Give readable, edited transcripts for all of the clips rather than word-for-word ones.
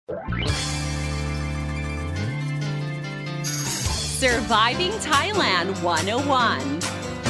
Surviving Thailand 101.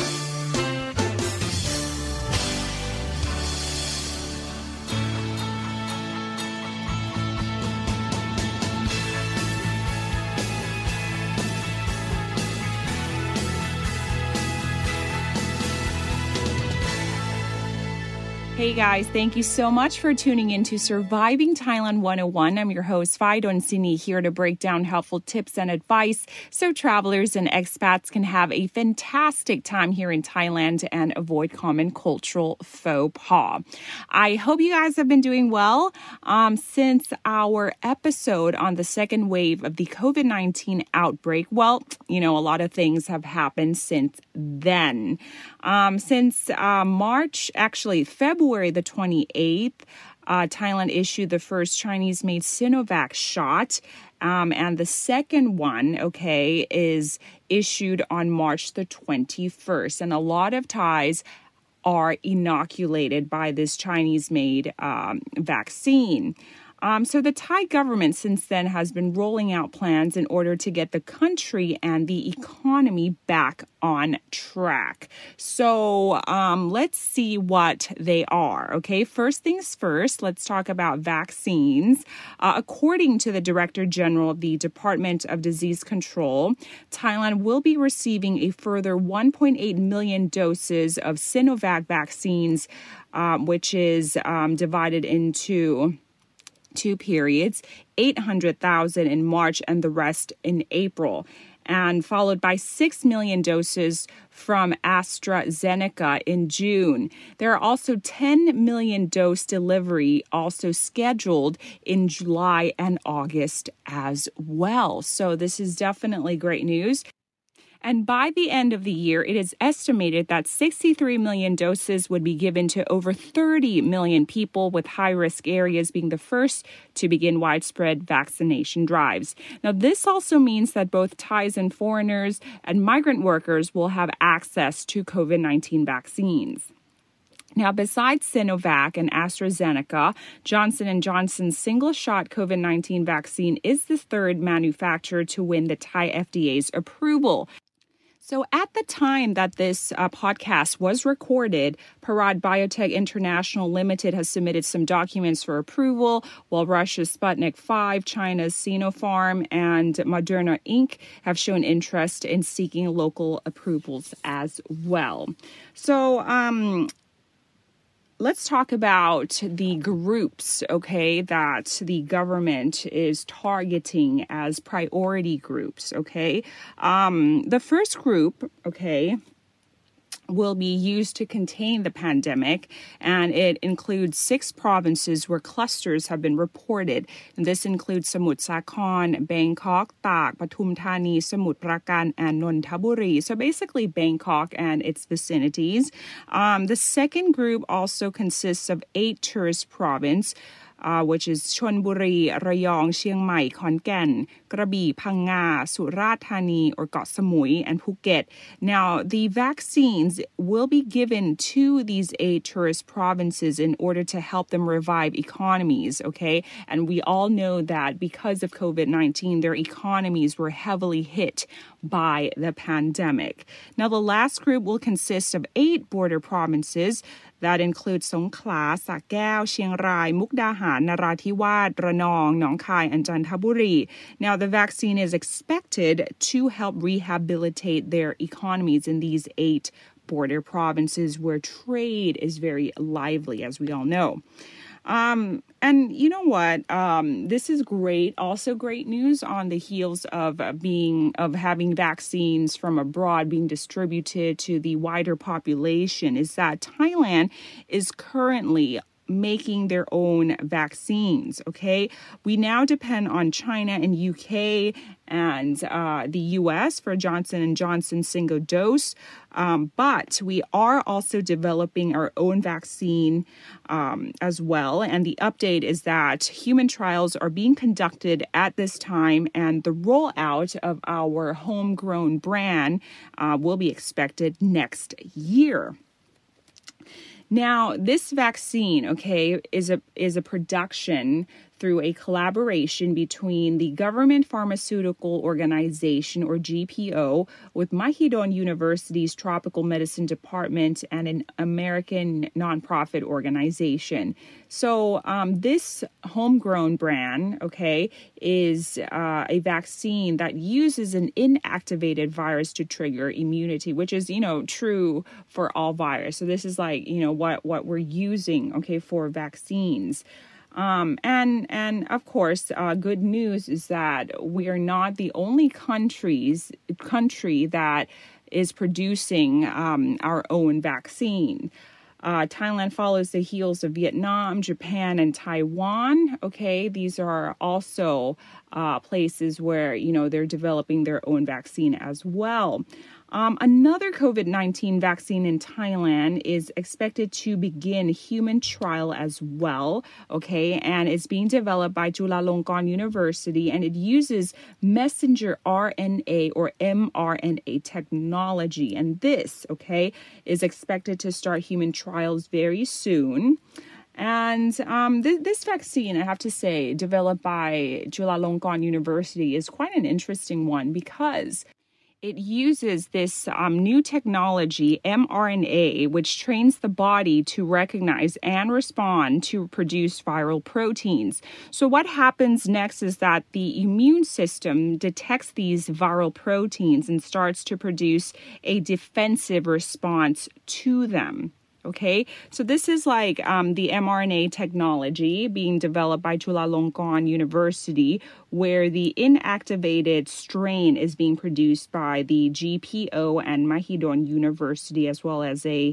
Hey guys, thank you so much for tuning in to Surviving Thailand 101. I'm your host, Phai Donsini, here to break down helpful tips and advice so travelers and expats can have a fantastic time here in Thailand and avoid common cultural faux pas. I hope you guys have been doing well since our episode on the second wave of the COVID-19 outbreak. Well, a lot of things have happened since then. Since February the 28th, Thailand issued the first Chinese-made Sinovac shot. And the second one, is issued on March the 21st. And a lot of Thais are inoculated by this Chinese-made vaccine. So the Thai government since then has been rolling out plans in order to get the country and the economy back on track. So let's see what they are. Okay, first things first, let's talk about vaccines. According to the Director General of the Department of Disease Control, Thailand will be receiving a further 1.8 million doses of Sinovac vaccines, which is divided into two periods, 800,000 in March and the rest in April, and followed by 6 million doses from AstraZeneca in June. There are also 10 million dose delivery also scheduled in July and August as well. So this is definitely great news. And by the end of the year, it is estimated that 63 million doses would be given to over 30 million people, with high-risk areas being the first to begin widespread vaccination drives. Now, this also means that both Thais and foreigners and migrant workers will have access to COVID-19 vaccines. Now, besides Sinovac and AstraZeneca, Johnson & Johnson's single-shot COVID-19 vaccine is the third manufacturer to win the Thai FDA's approval. So at the time that this podcast was recorded, Parad Biotech International Limited has submitted some documents for approval, while Russia's Sputnik V, China's Sinopharm, and Moderna Inc. have shown interest in seeking local approvals as well. So, let's talk about the groups, that the government is targeting as priority groups, The first group, will be used to contain the pandemic, and it includes 6 provinces where clusters have been reported. And this includes Samut Sakhon, Bangkok, Tak, Pathum Thani, Samut Prakan, and Nonthaburi. So basically Bangkok and its vicinities. The second group also consists of 8 tourist provinces, which is Chonburi, Rayong, Chiang Mai, Khon Kaen, Krabi, Phang Nga, Surat Thani, or Koh Samui, and Phuket. Now, the vaccines will be given to these 8 tourist provinces in order to help them revive economies, And we all know that because of COVID-19, their economies were heavily hit by the pandemic. Now, the last group will consist of 8 border provinces that include Songkhla, Sa Kaeo, Chiang Rai, Mukdahan, Narathiwat, Ranong, Nong Khai, and Chanthaburi. Now, the vaccine is expected to help rehabilitate their economies in these 8 border provinces where trade is very lively, as we all know. And you know what? This is great. Also great news on the heels of having vaccines from abroad being distributed to the wider population is that Thailand is currently making their own vaccines, We now depend on China and UK and the US for Johnson & Johnson single dose, but we are also developing our own vaccine as well. And the update is that human trials are being conducted at this time, and the rollout of our homegrown brand will be expected next year. Now, this vaccine, is a production through a collaboration between the Government Pharmaceutical Organization, or GPO, with Mahidol University's Tropical Medicine Department and an American nonprofit organization. So this homegrown brand, okay, is a vaccine that uses an inactivated virus to trigger immunity, which is, true for all virus. So this is like, what we're using, okay, for vaccines. And of course, good news is that we are not the only country that is producing our own vaccine. Thailand follows the heels of Vietnam, Japan, and Taiwan. Okay, these are also places where, they're developing their own vaccine as well. Another COVID-19 vaccine in Thailand is expected to begin human trial as well, okay, and it's being developed by Chulalongkorn University, and it uses messenger RNA or mRNA technology, and this, okay, is expected to start human trials very soon. And this vaccine, I have to say, developed by Chulalongkorn University is quite an interesting one because it uses this new technology, mRNA, which trains the body to recognize and respond to produce viral proteins. So what happens next is that the immune system detects these viral proteins and starts to produce a defensive response to them. Okay, so this is like the mRNA technology being developed by Chulalongkorn University, where the inactivated strain is being produced by the GPO and Mahidol University, as well as an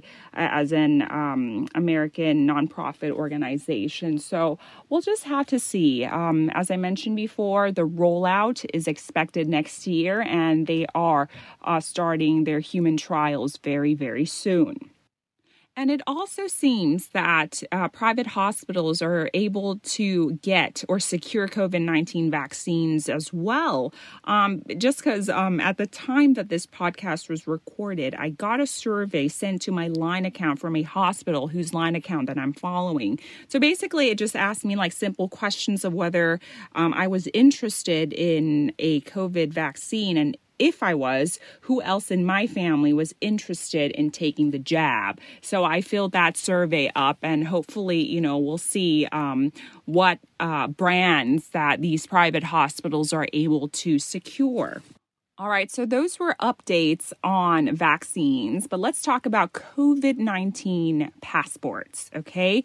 American nonprofit organization. So we'll just have to see. As I mentioned before, the rollout is expected next year, and they are starting their human trials very, very soon. And it also seems that private hospitals are able to get or secure COVID-19 vaccines as well. Just because at the time that this podcast was recorded, I got a survey sent to my Line account from a hospital whose Line account that I'm following. So basically, it just asked me like simple questions of whether I was interested in a COVID vaccine, and if I was, who else in my family was interested in taking the jab. So I filled that survey up, and hopefully, we'll see what brands that these private hospitals are able to secure. All right, so those were updates on vaccines, but let's talk about COVID-19 passports, okay?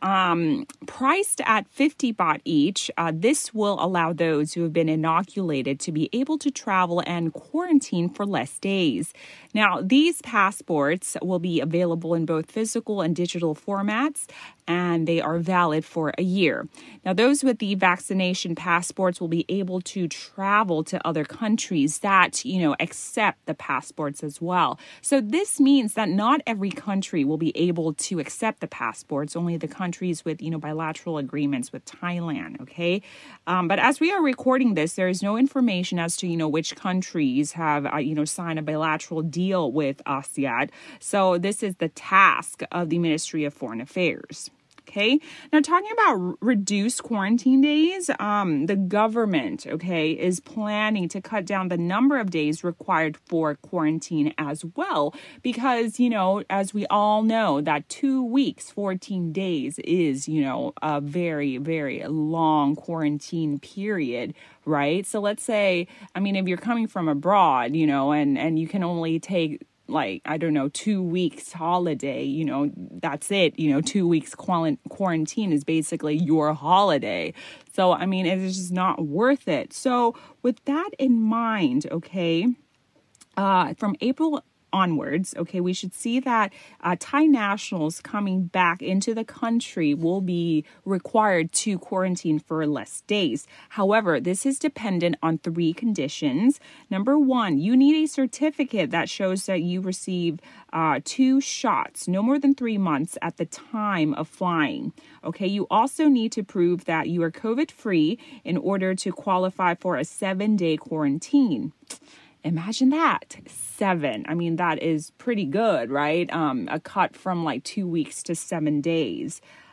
Priced at 50 baht each, this will allow those who have been inoculated to be able to travel and quarantine for less days. Now, these passports will be available in both physical and digital formats, and they are valid for a year. Now, those with the vaccination passports will be able to travel to other countries that, accept the passports as well. So this means that not every country will be able to accept the passports, only the countries with, bilateral agreements with Thailand, okay? But as we are recording this, there is no information as to, which countries have, signed a bilateral deal with ASEAN. So this is the task of the Ministry of Foreign Affairs. Okay, now talking about reduced quarantine days, the government, is planning to cut down the number of days required for quarantine as well. Because, as we all know, that 2 weeks, 14 days is, a very, very long quarantine period, right? So let's say, if you're coming from abroad, and you can only take 2 weeks holiday, that's it, 2 weeks quarantine is basically your holiday. So, it's just not worth it. So with that in mind, from April onwards, we should see that Thai nationals coming back into the country will be required to quarantine for less days. However, this is dependent on 3 conditions. Number 1, you need a certificate that shows that you receive 2 shots, no more than 3 months at the time of flying. You also need to prove that you are COVID-free in order to qualify for a 7-day quarantine. Imagine that, 7. That is pretty good, right? A cut from 2 weeks to 7 days.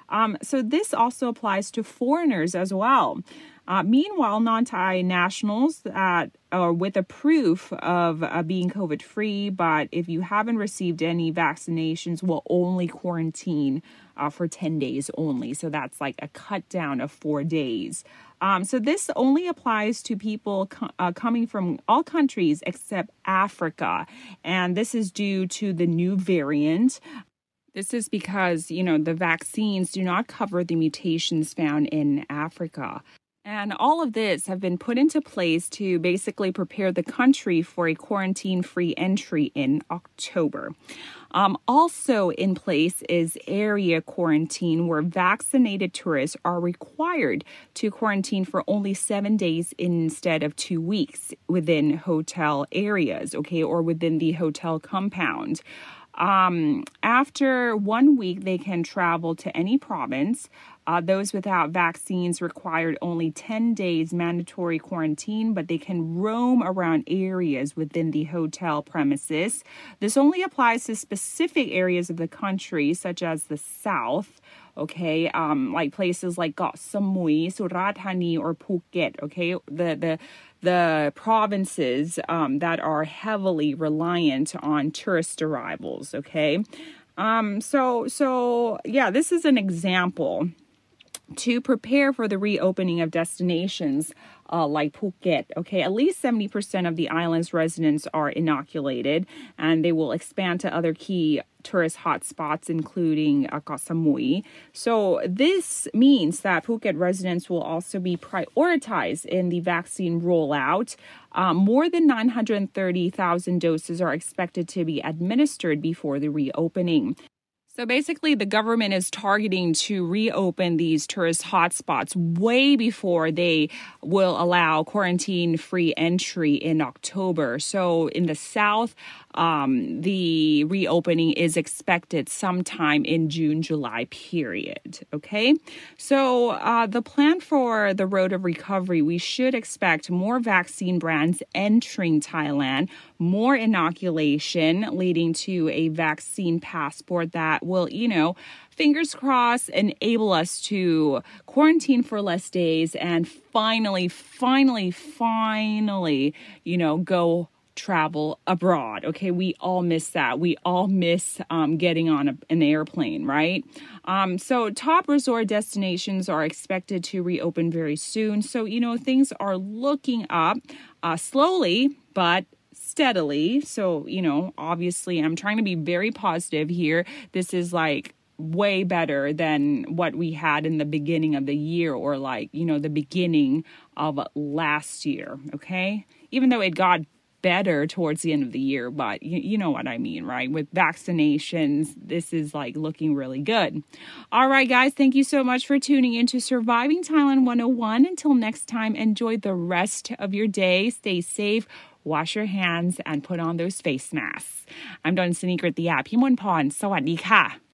So this also applies to foreigners as well. Meanwhile, non-Thai nationals that are with a proof of being COVID-free, but if you haven't received any vaccinations, will only quarantine for 10 days only. So that's like a cut down of 4 days. So this only applies to people coming from all countries except Africa. And this is due to the new variant. This is because, the vaccines do not cover the mutations found in Africa. And all of this have been put into place to basically prepare the country for a quarantine-free entry in October. Also in place is area quarantine, where vaccinated tourists are required to quarantine for only 7 days instead of 2 weeks within hotel areas, or within the hotel compound. After 1 week, they can travel to any province. Those without vaccines required only 10 days mandatory quarantine, but they can roam around areas within the hotel premises. This only applies to specific areas of the country, such as the south, like places like Got Samui, Surat Thani, or Phuket, the provinces that are heavily reliant on tourist arrivals, this is an example to prepare for the reopening of destinations like Phuket. At least 70% of the island's residents are inoculated, and they will expand to other key tourist hotspots, including Koh Samui. So this means that Phuket residents will also be prioritized in the vaccine rollout. More than 930,000 doses are expected to be administered before the reopening. So basically, the government is targeting to reopen these tourist hotspots way before they will allow quarantine-free entry in October. So in the south, the reopening is expected sometime in June, July period. So the plan for the road of recovery, we should expect more vaccine brands entering Thailand, more inoculation leading to a vaccine passport that will, fingers crossed, enable us to quarantine for less days and finally, go travel abroad. We all miss that. We all miss getting on an airplane, right? So top resort destinations are expected to reopen very soon. So, things are looking up slowly, but steadily. So, obviously I'm trying to be very positive here. This is like way better than what we had in the beginning of the year, or the beginning of last year. Even though it got better towards the end of the year, but you know what I mean, right? With vaccinations, this is looking really good. All right, guys, thank you so much for tuning in to Surviving Thailand 101. Until next time, enjoy the rest of your day. Stay safe, wash your hands, and put on those face masks. I'm Donsini Kritia Pimonporn. สวัสดีค่ะ